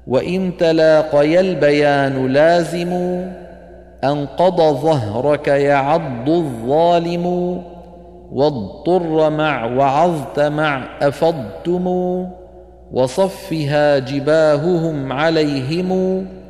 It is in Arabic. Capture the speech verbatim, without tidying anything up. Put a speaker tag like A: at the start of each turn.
A: وإن تلاقي البيان لازم أنقض ظهرك يعض الظالم واضطر مع وعظت مع أفضتم وصفها جباههم عليهم